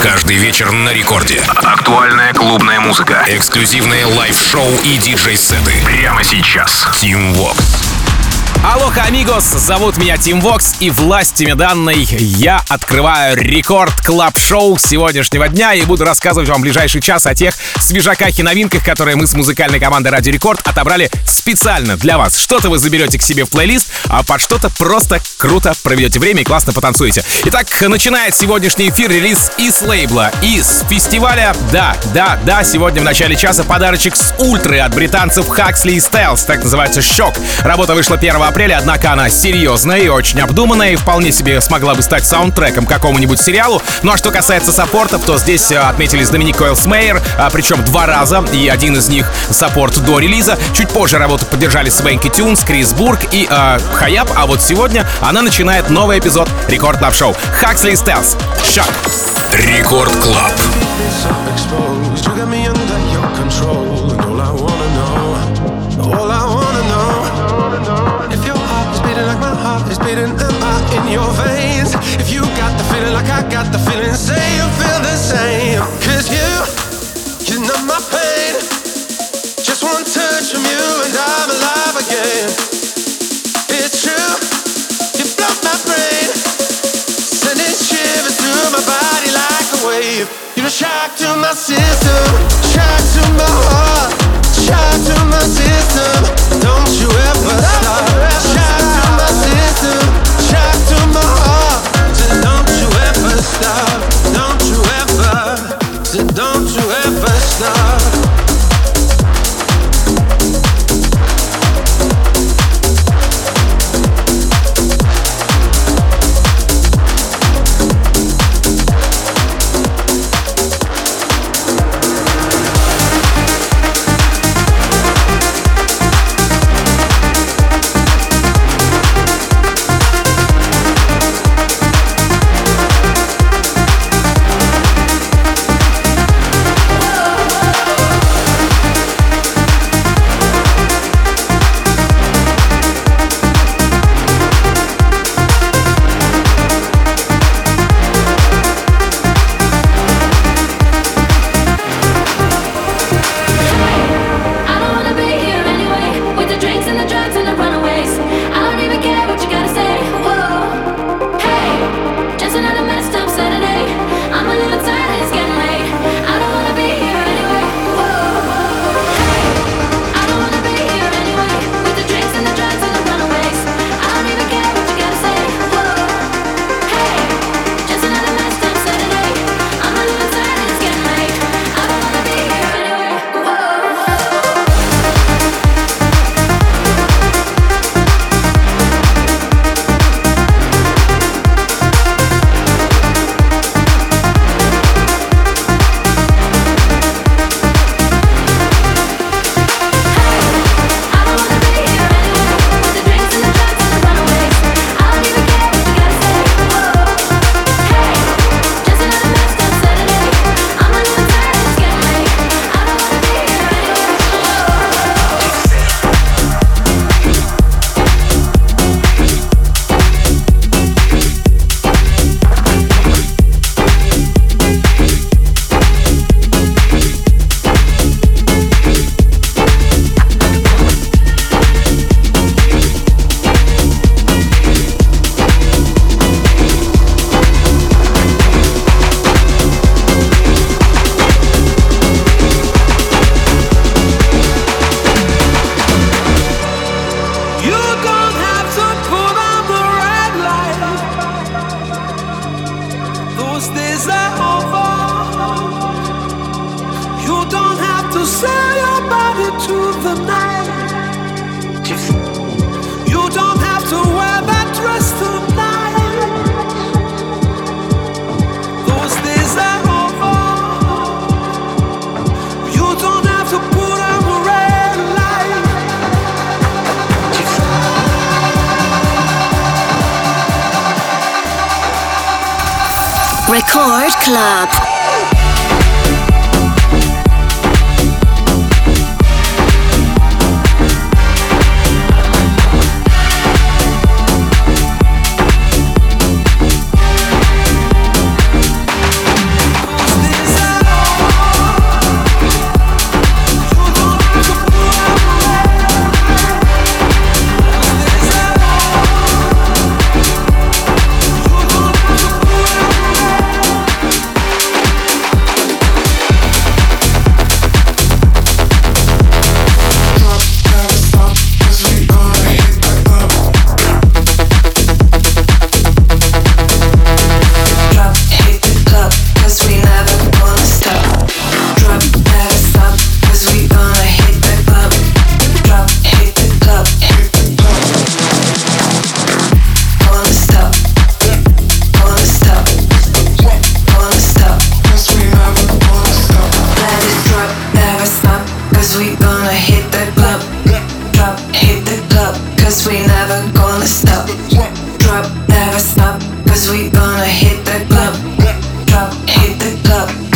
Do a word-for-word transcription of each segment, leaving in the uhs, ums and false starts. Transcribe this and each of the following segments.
Каждый вечер на рекорде. Актуальная клубная музыка, эксклюзивные лайв-шоу и диджей-сеты. Прямо сейчас. Team Vox. Алоха, амигос! Зовут меня Тим Вокс, и властями данной я открываю рекорд клаб-шоу сегодняшнего дня и буду рассказывать вам в ближайший час о тех свежаках и новинках, которые мы с музыкальной командой Радио Рекорд отобрали специально для вас. Что-то вы заберете к себе в плейлист, а под что-то просто круто проведете время и классно потанцуете. Итак, начинает сегодняшний эфир релиз из лейбла, из фестиваля. Да, да, да, сегодня в начале часа подарочек с ультры от британцев Huxley и Styles, так называется «Шок». Работа вышла первого апреля, однако она серьезная и очень обдуманная, и вполне себе смогла бы стать саундтреком к какому-нибудь сериалу. Ну а что касается саппортов, то здесь отметились Доминик Койлсмейер, причем два раза, и один из них саппорт до релиза. Чуть позже работу поддержали Свенки Тюнс, Крис Бург и э, Хаяб, а вот сегодня она начинает новый эпизод Рекорд Клаб Шоу. Huxley и Styles. Шок. Рекорд Клаб. It's beating in your veins. If you got the feeling like I got the feeling, say you feel the same. Cause you, you numb my pain. Just one touch from you and I'm alive again. It's true, you blow my brain, sending shivers through my body like a wave. You're a shock to my system, shock to my heart, shock to my system. Don't you ever stop. Shock to my system, shock to my heart. So don't you ever stop. Don't you ever. So don't you ever stop. Record Club.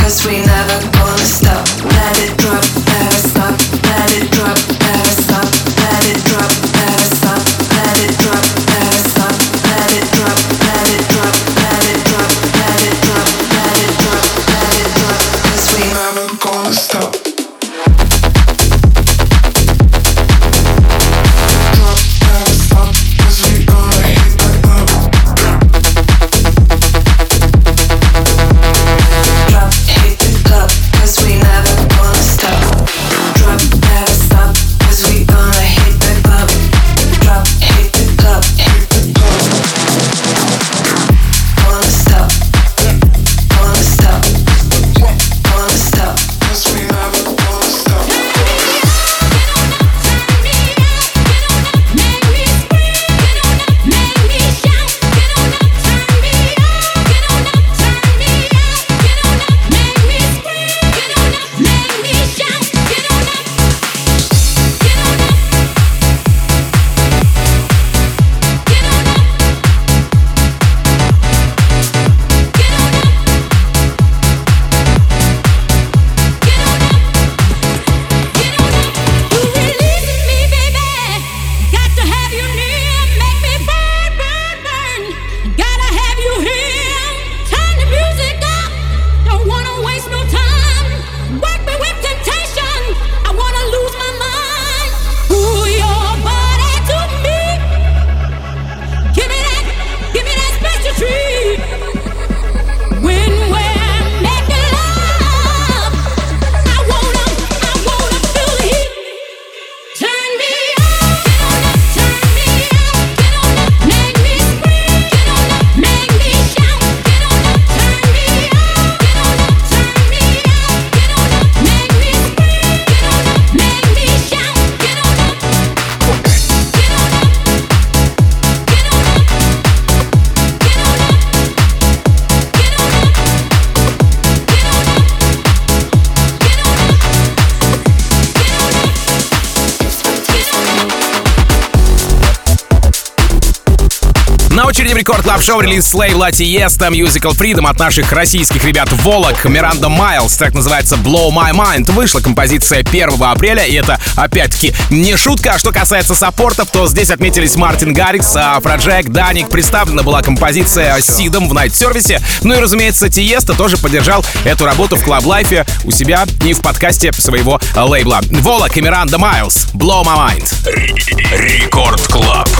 На очереди в Рекорд Клаб Шоу релиз с лейбла Tiesto Musical Freedom от наших российских ребят Волок, Miranda Miles. Трек называется Blow My Mind. Вышла композиция первого апреля, и это, опять-таки, не шутка. А что касается саппортов, то здесь отметились Мартин Гаррикс, Афроджек, Даник. Представлена была композиция Сидом в найт-сервисе. Ну и, разумеется, Tiesto тоже поддержал эту работу в Club Life у себя и в подкасте своего лейбла. Волок и Miranda Miles. Blow My Mind. Рекорд Клаб.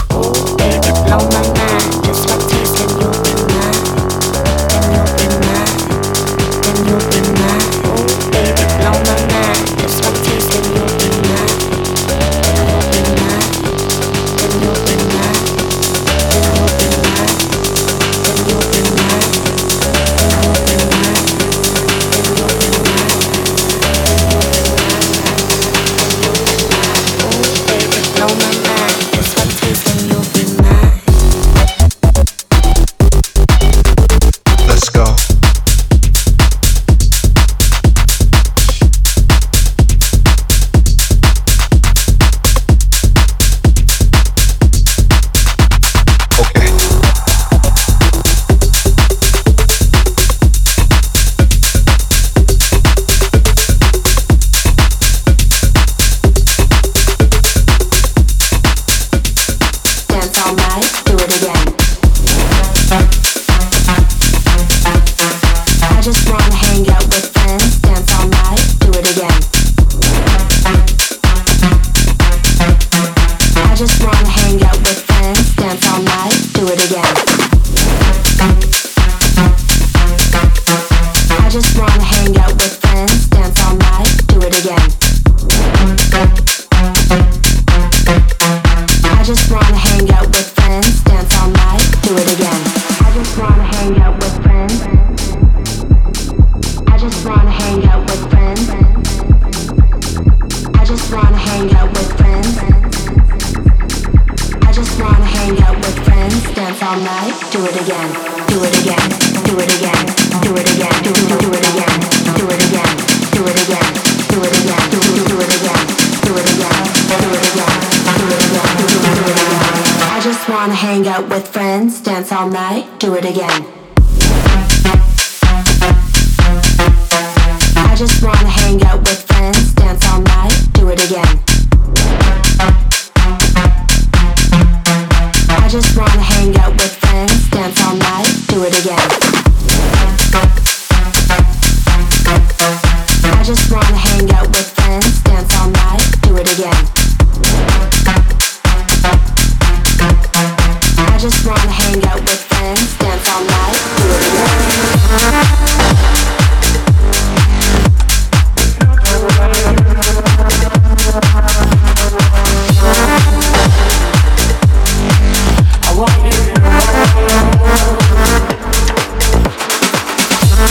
Do it again.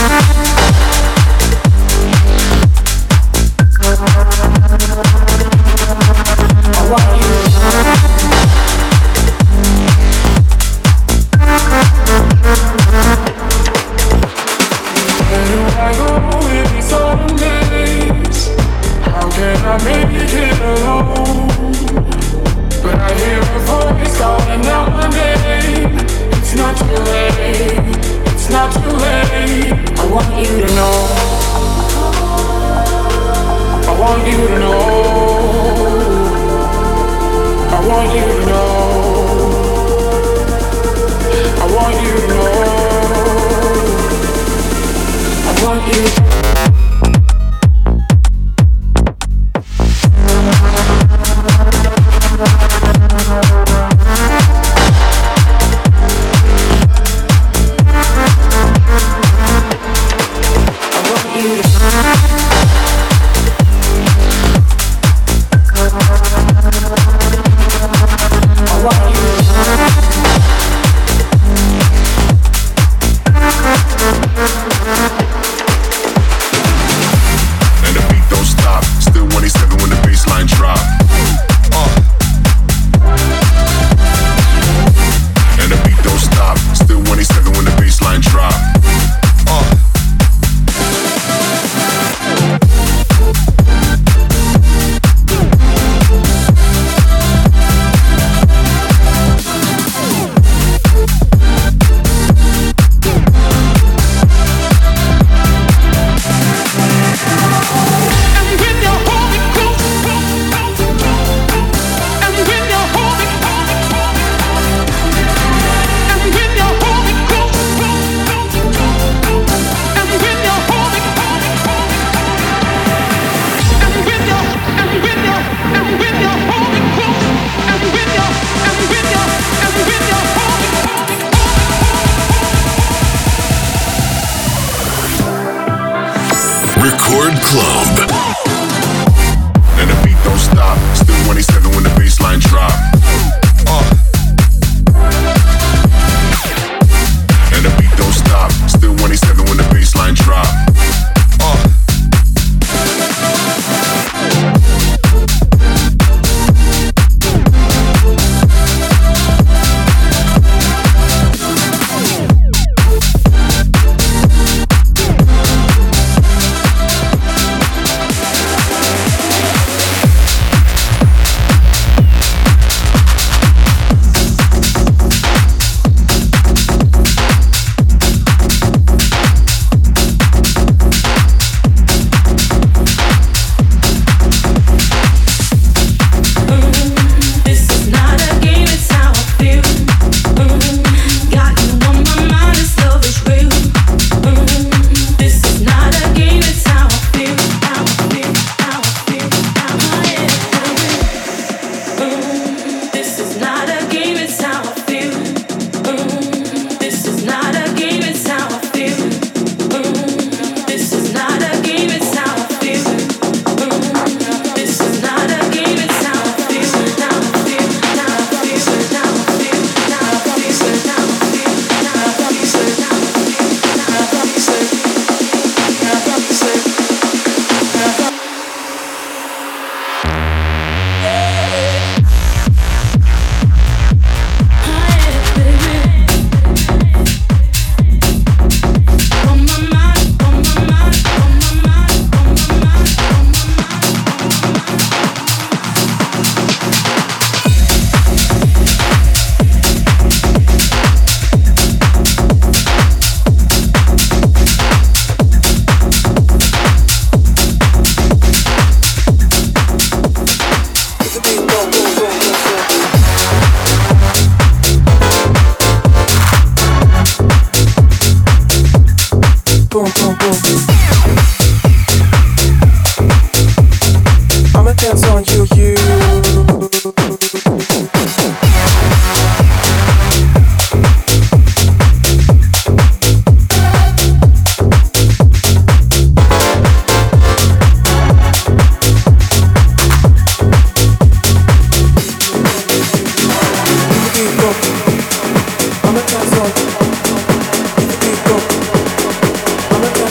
I'ma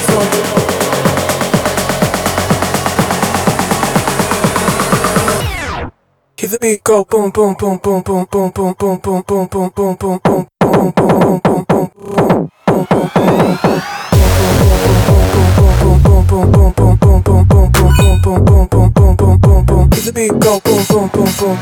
Keep the beat go boom boom boom boom boom boom boom boom boom boom boom boom boom boom. Keep the beat go boom boom boom boom.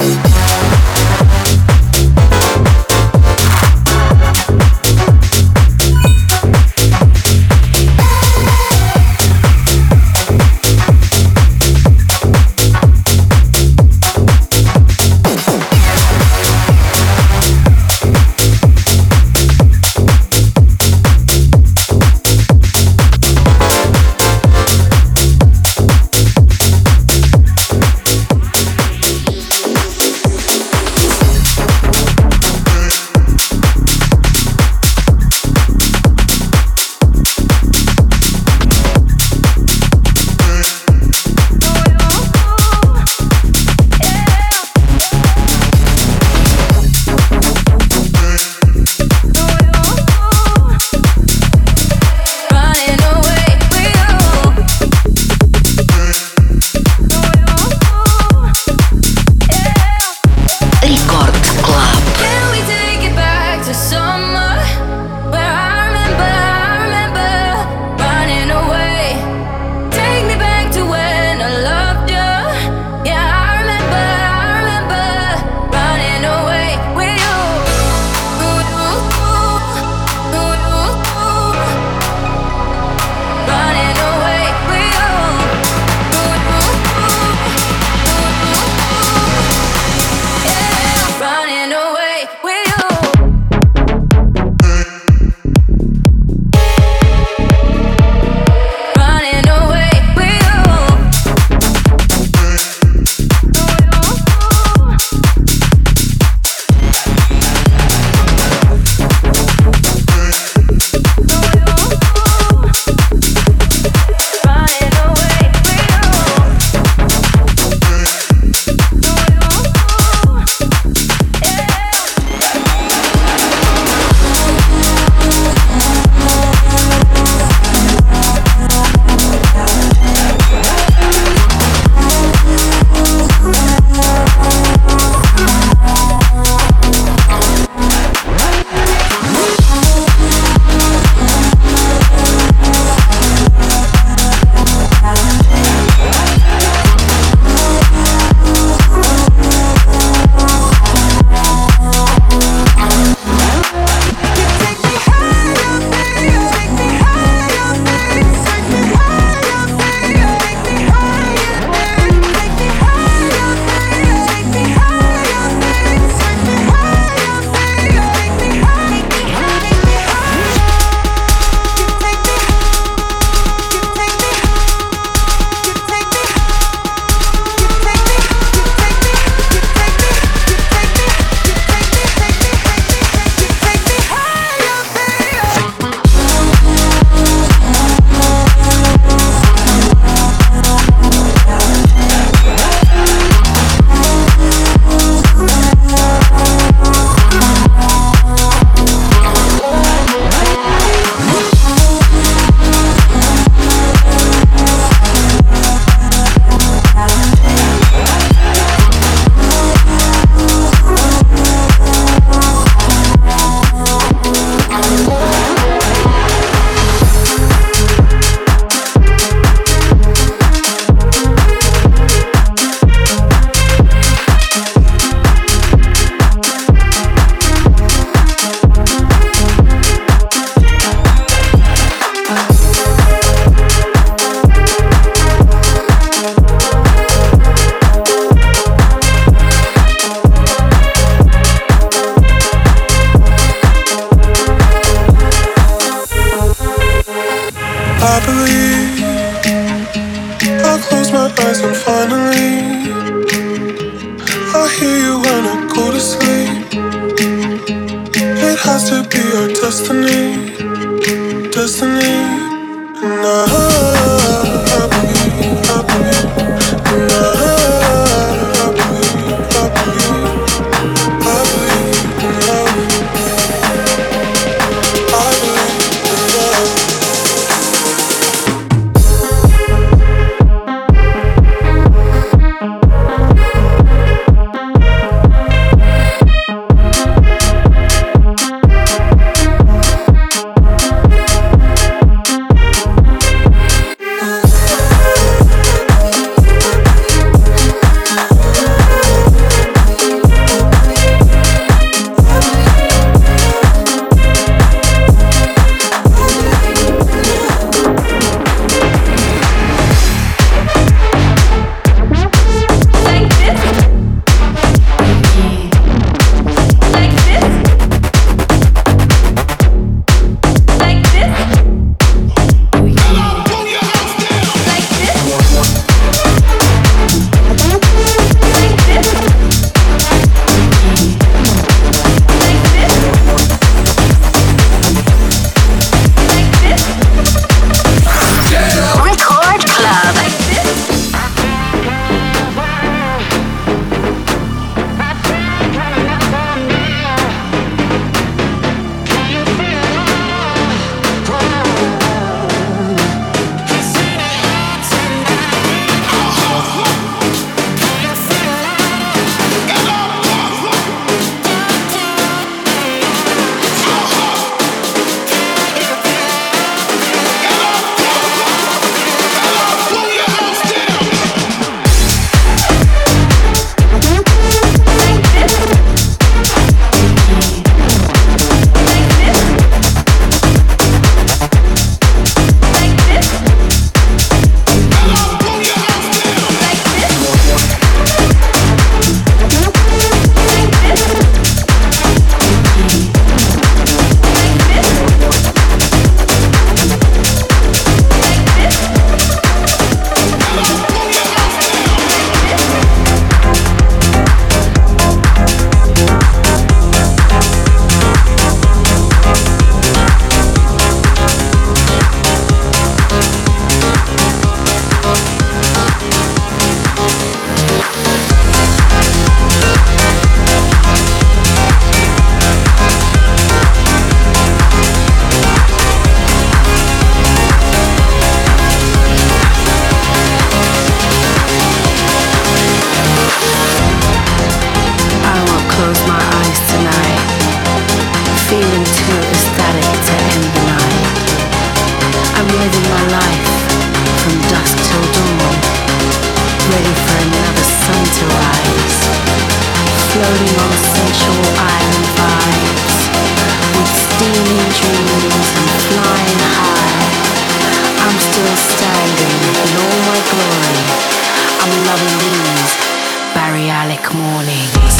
my life from dusk till dawn, ready for another sun to rise, floating on sensual island vibes, with steaming dreams and flying high. I'm still standing in all my glory. I'm loving these Balearic mornings.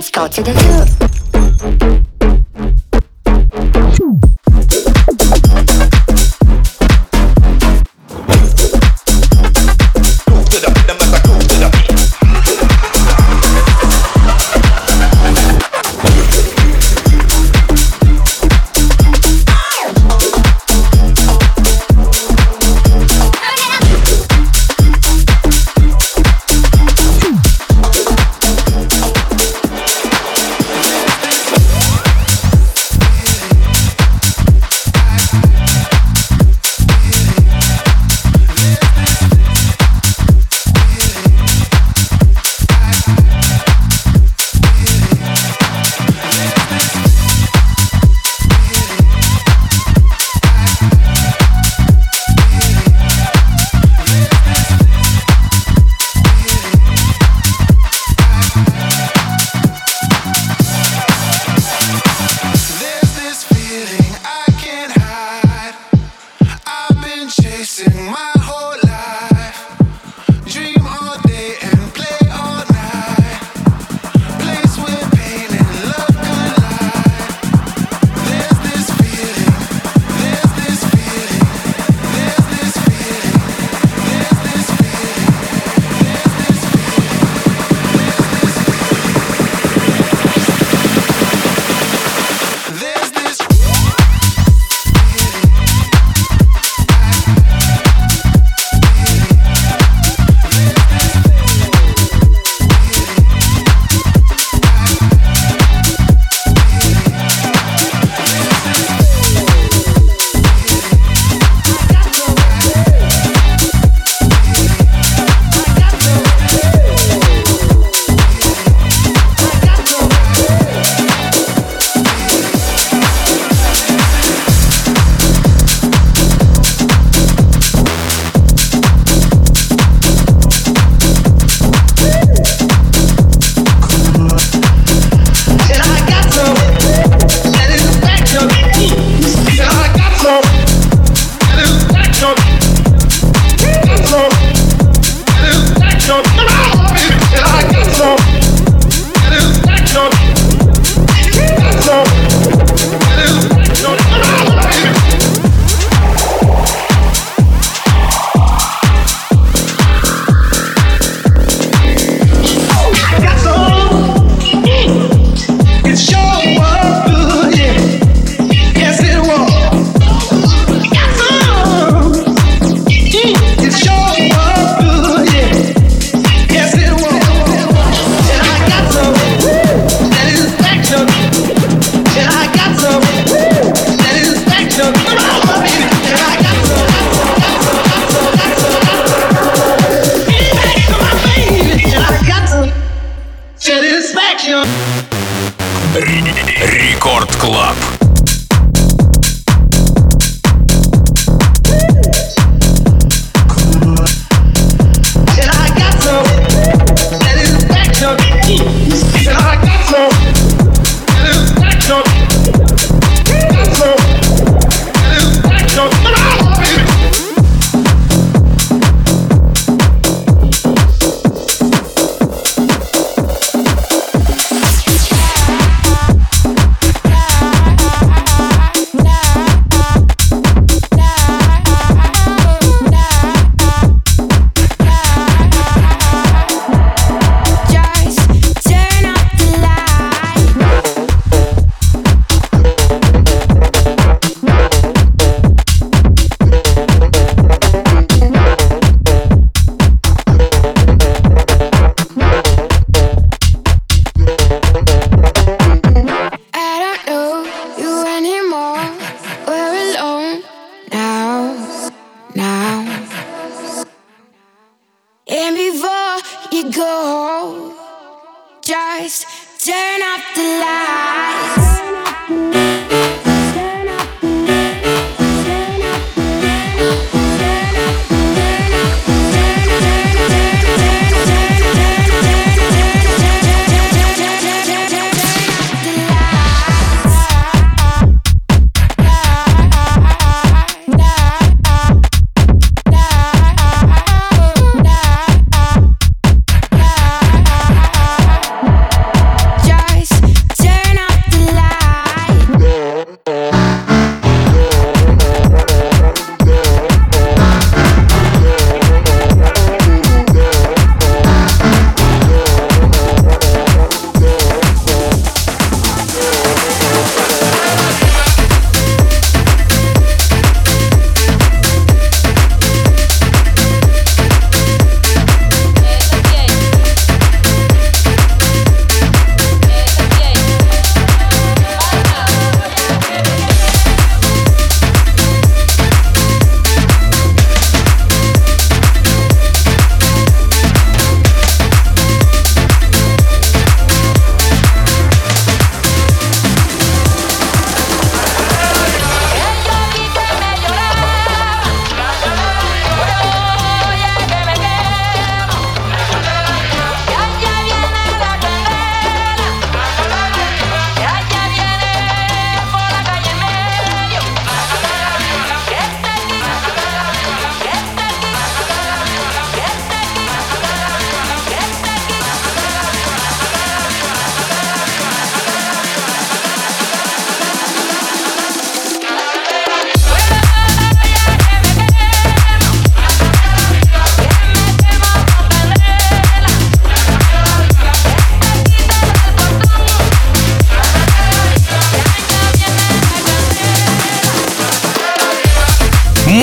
Let's go to the hood. Рекорд Клаб.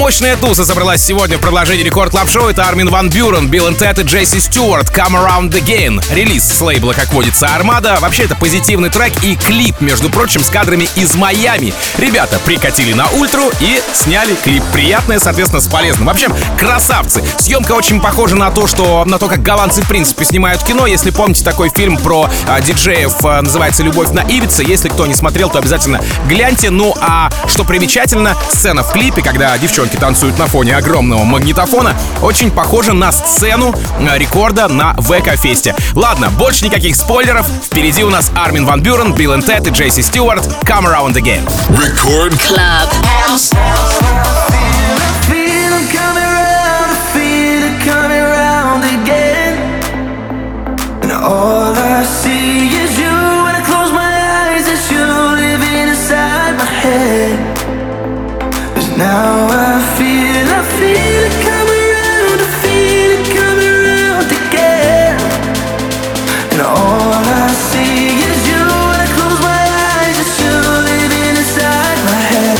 Мощная туса собралась сегодня в продолжении Рекорд Клаб Шоу. Это Армин ван Бюрен, Билл энд Тед и Джесси Стюарт. Come Around Again. Релиз с лейбла, как водится, Армада. Вообще, это позитивный трек и клип, между прочим, с кадрами из Майами. Ребята прикатили на ультру и сняли клип. Приятное, соответственно, с полезным. В общем, красавцы. Съемка очень похожа на то, что на то, как голландцы, в принципе, снимают кино. Если помните такой фильм про а, диджеев, а, называется «Любовь на Ибице». Если кто не смотрел, то обязательно гляньте. Ну, а что примечательно, сцена в клипе, когда девчонки танцуют на фоне огромного магнитофона, очень похожа на сцену рекорда на ВК-фесте. Ладно, больше никаких спойлеров. Впереди у нас Армин ван Бюрен, Билл энд Тед и Джесси Стюарт. Come Around Again. Record Club. All I see is you. When I close my eyes, it's you living inside my head. 'Cause now I feel, I feel it come around, I feel it come around again. And all I see is you. When I close my eyes, it's you living inside my head.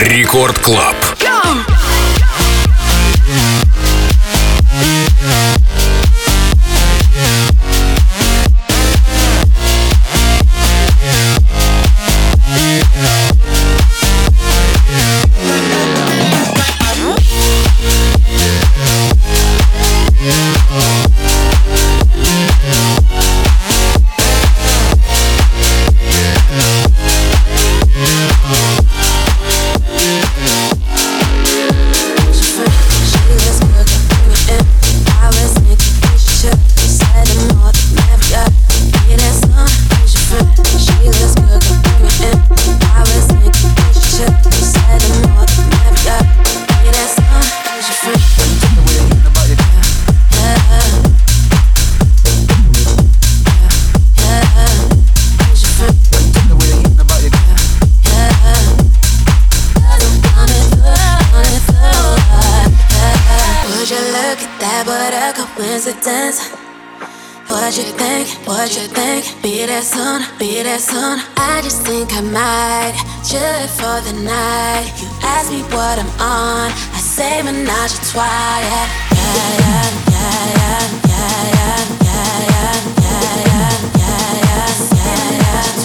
Рекорд Клаб. What you think, what you think, be there soon, be there soon. I just think I might, chill for the night. You ask me what I'm on, I say menage a trois. Yeah, yeah, yeah, yeah, yeah, yeah, yeah, yeah, yeah, yeah, yeah, yeah, yeah,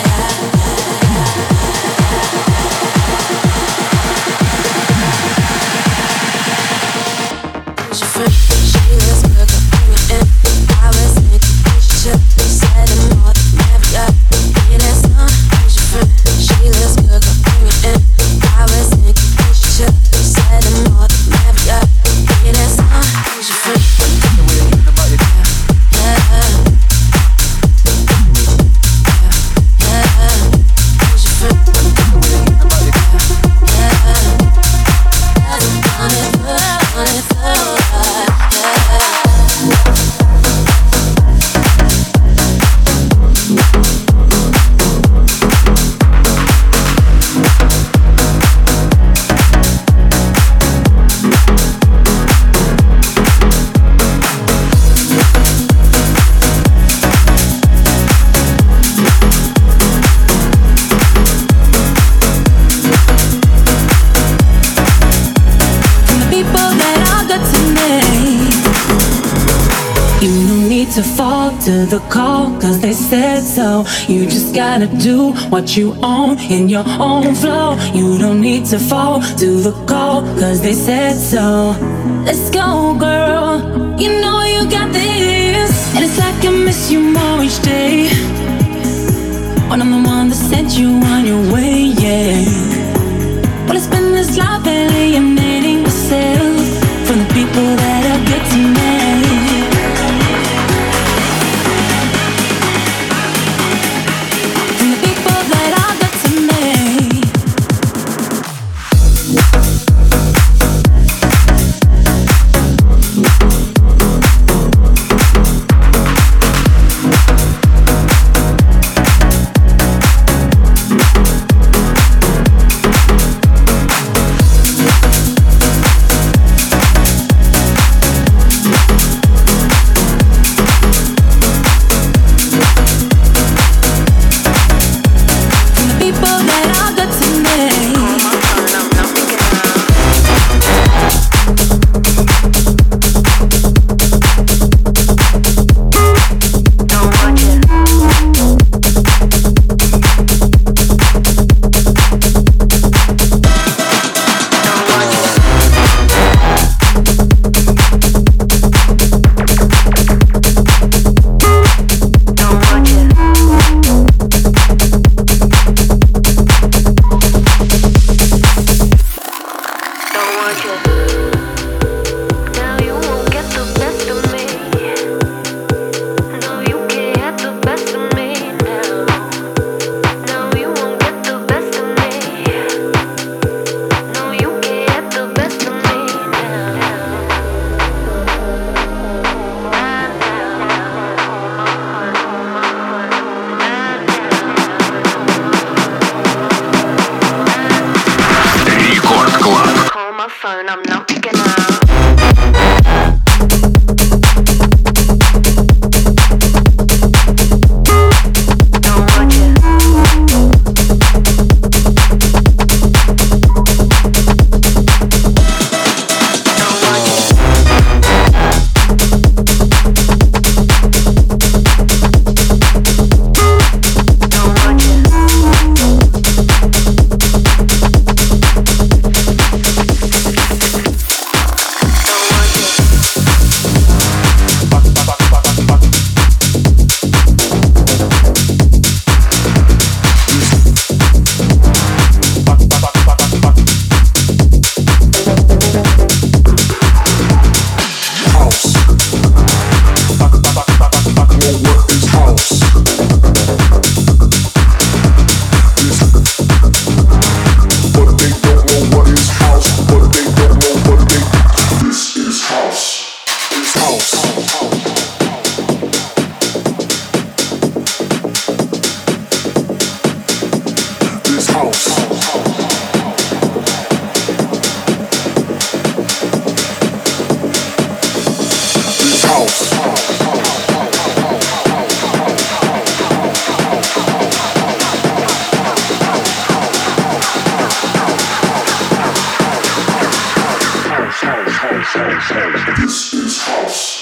to fall to the call, cause they said so. You just gotta do what you own in your own flow. You don't need to fall to the call, cause they said so. Let's go, girl, you know you got this. And it's like I miss you more each day, when I'm the one that sent you on your way, yeah. Well, it's been this life alienating myself from the people that are good to me. This is house.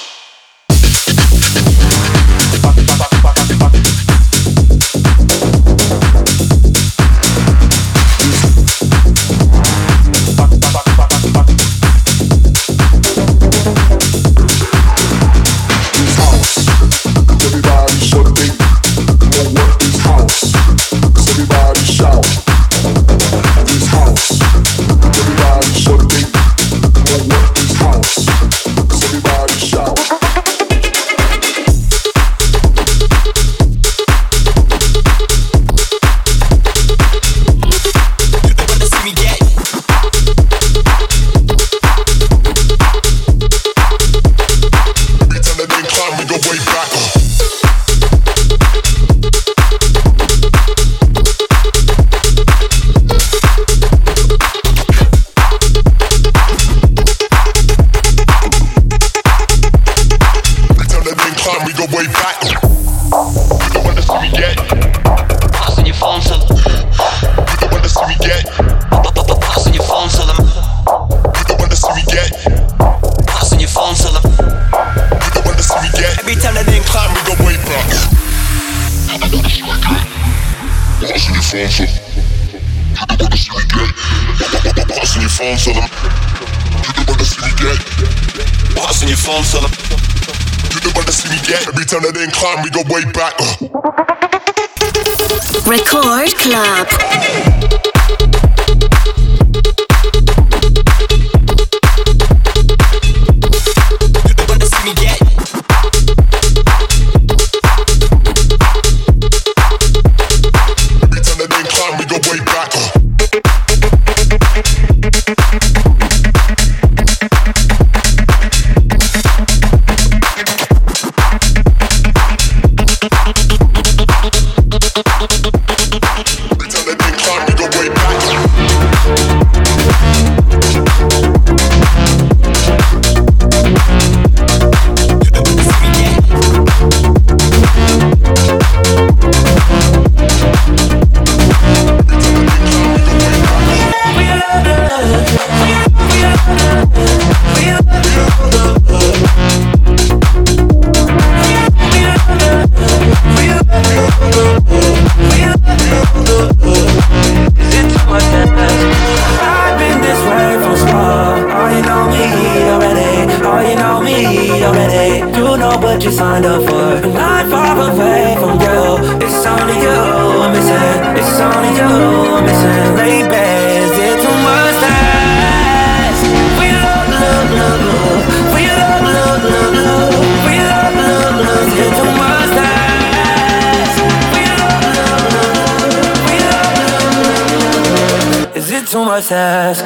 Climb, we go way back. Record Club. Too much to ask.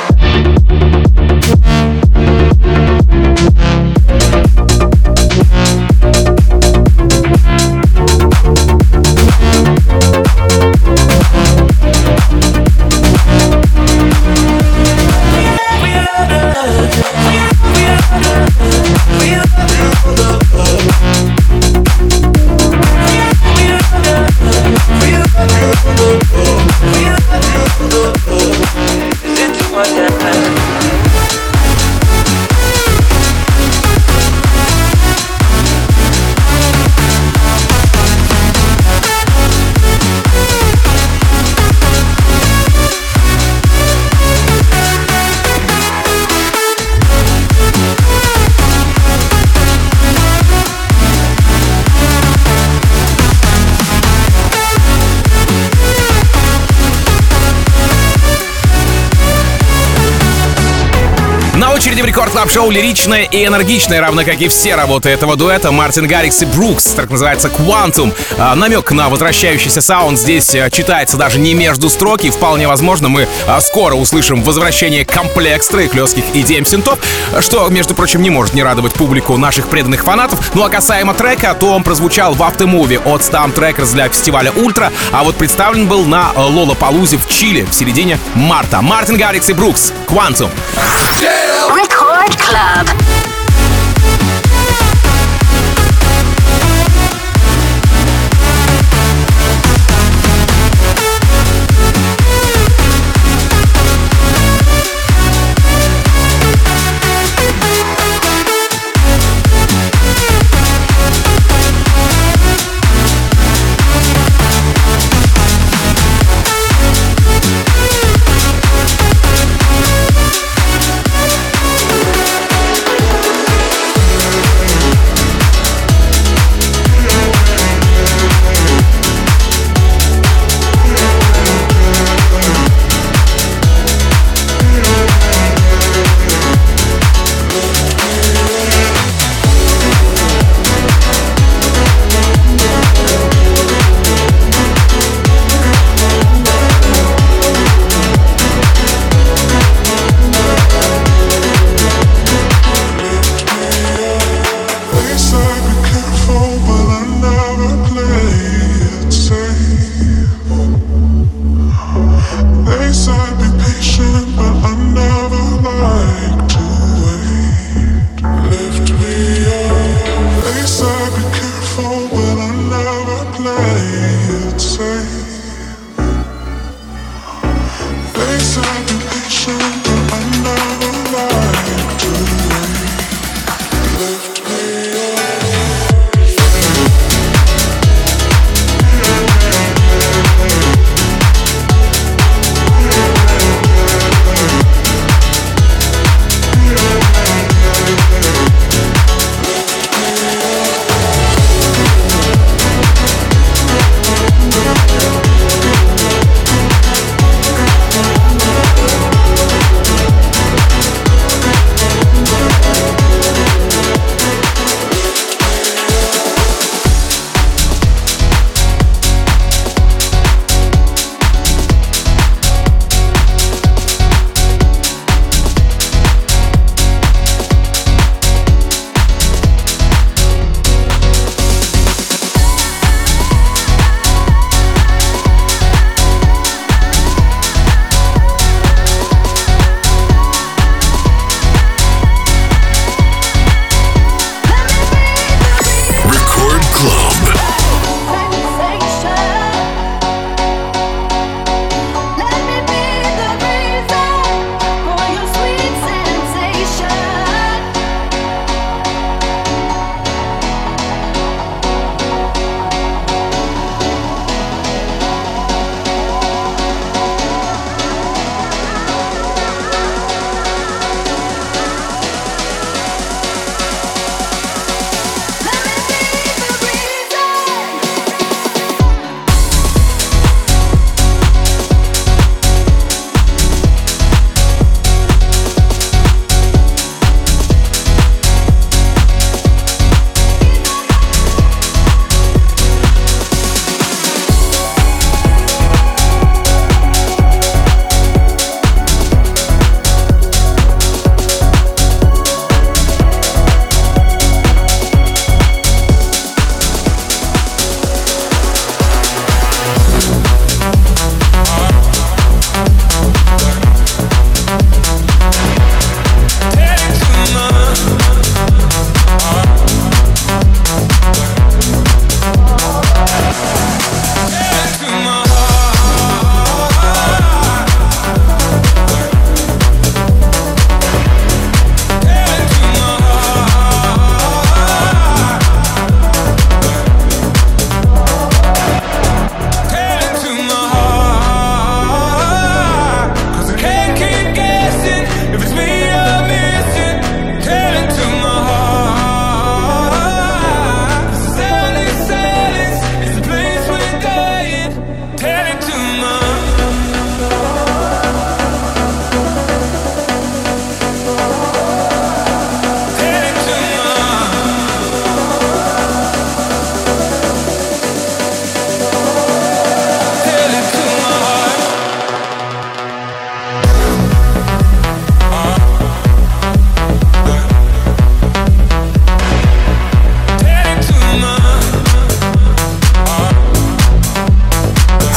На очереди в Рекорд Клаб Шоу лиричная и энергичная, равно как и все работы этого дуэта, Мартин Гаррикс и Брукс, так называется Quantum. А, намек на возвращающийся саунд здесь а, читается даже не между строки, и вполне возможно мы а, скоро услышим возвращение комплекстра и хлестких и ди эм-синтов, что, между прочим, не может не радовать публику наших преданных фанатов. Ну а касаемо трека, то он прозвучал в Aftermovie от Stamp Trackers для фестиваля Ультра, а вот представлен был на Лолапалузе в Чили в середине марта. Мартин Гаррикс и Брукс, Quantum. Record Club.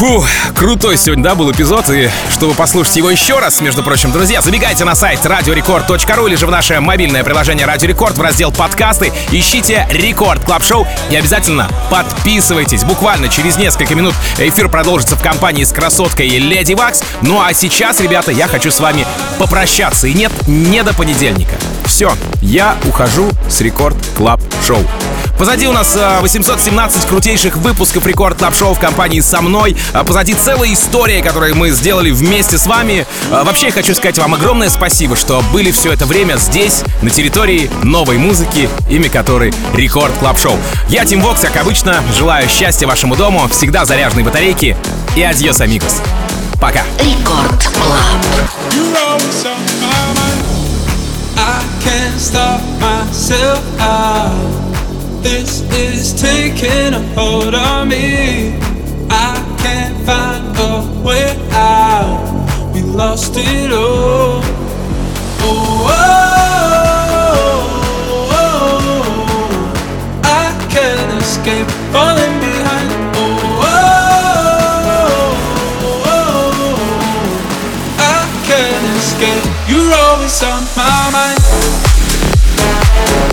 Фу, крутой сегодня, да, был эпизод, и чтобы послушать его еще раз, между прочим, друзья, забегайте на сайт радио рекорд точка ру или же в наше мобильное приложение Радио Рекорд в раздел «Подкасты», ищите Рекорд Клаб Шоу и обязательно подписывайтесь. Буквально через несколько минут эфир продолжится в компании с красоткой Леди Вакс. Ну а сейчас, ребята, я хочу с вами попрощаться. И нет, не до понедельника. Все, я ухожу с Рекорд Клаб Шоу. Позади у нас восемьсот семнадцать крутейших выпусков Рекорд Клаб Шоу в компании со мной. Позади целая история, которую мы сделали вместе с вами. Вообще, я хочу сказать вам огромное спасибо, что были все это время здесь, на территории новой музыки, имя которой Рекорд Клаб Шоу. Я, Тим Вокс, как обычно, желаю счастья вашему дому, всегда заряженной батарейки и адьос, амигос. Пока. Рекорд Клаб. This is taking a hold on me. I can't find a way out. We lost it all. Oh, oh, oh, oh. I can't escape falling behind. Oh, oh, oh, oh. I can't escape. You're always on my mind.